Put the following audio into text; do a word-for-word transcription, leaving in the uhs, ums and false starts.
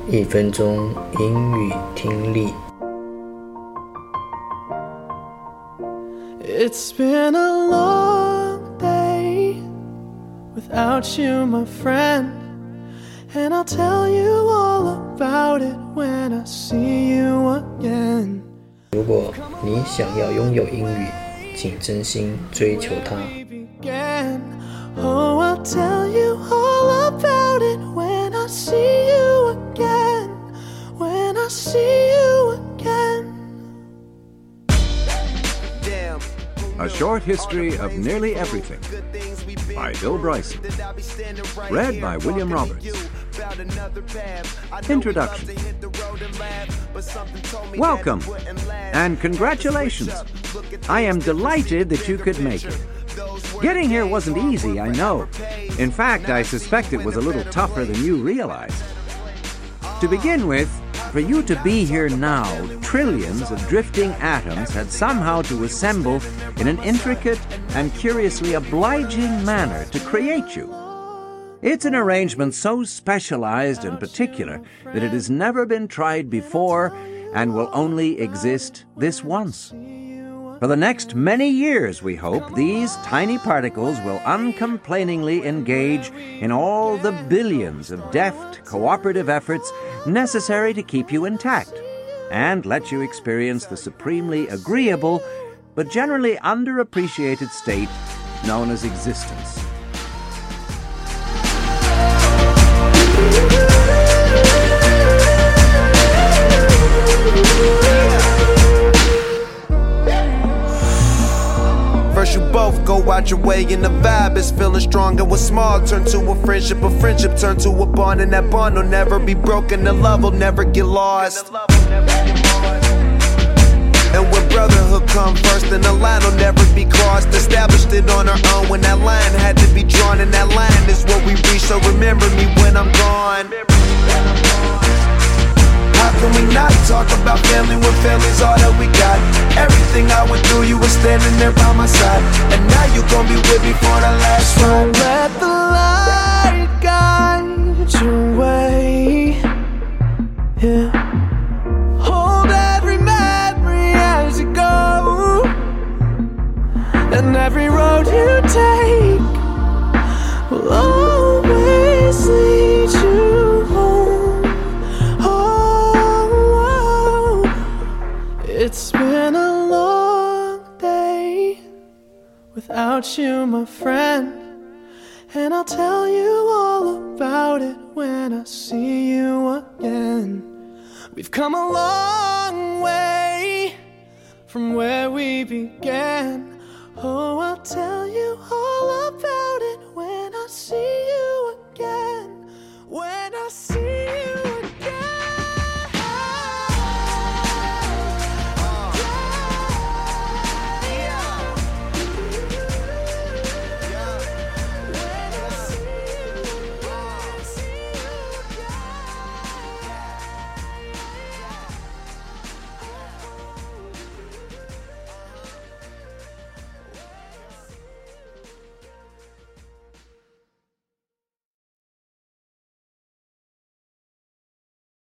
一分钟英语听力。 It's been a long day without you, my friend, and I'll tell you all about it when I see you again. 如果你想要拥有英语，请真心追求它。 Oh, I'll tell you all about it when I see you again. When I see you again. A Short History of Nearly Everything by Bill Bryson. Read by William Roberts. Introduction. Welcome and congratulations. I am delighted that you could make it. Getting here wasn't easy, I know. In fact, I suspect it was a little tougher than you realized. To begin with, for you to be here now, trillions of drifting atoms had somehow to assemble in an intricate and curiously obliging manner to create you. It's an arrangement so specialized and particular that it has never been tried before and will only exist this once. For the next many years, we hope, these tiny particles will uncomplainingly engage in all the billions of deft, cooperative efforts necessary to keep you intact and let you experience the supremely agreeable but generally underappreciated state known as existence. First you both go out your way and the vibe is feeling strong, and what's small turn to a friendship, a friendship turn to a bond, and that bond will never be broken, the love will never get lost. And when brotherhood come first, then the line will never be crossed. Established it on our own when that line had to be drawn, and that line is what we reach, so remember me when I'm gone. How can we not talk about family when family's all that we got? Everything I went through, you were standing there by my side, and now you gon' be with me for the last ride. Don't let the light guide your way. Yeah. Hold every memory as you go, and every road you take will always lead you home. Oh, it's been a long day without you, my friend, and I'll tell you all about it when I see you again. We've come a long way from where we began.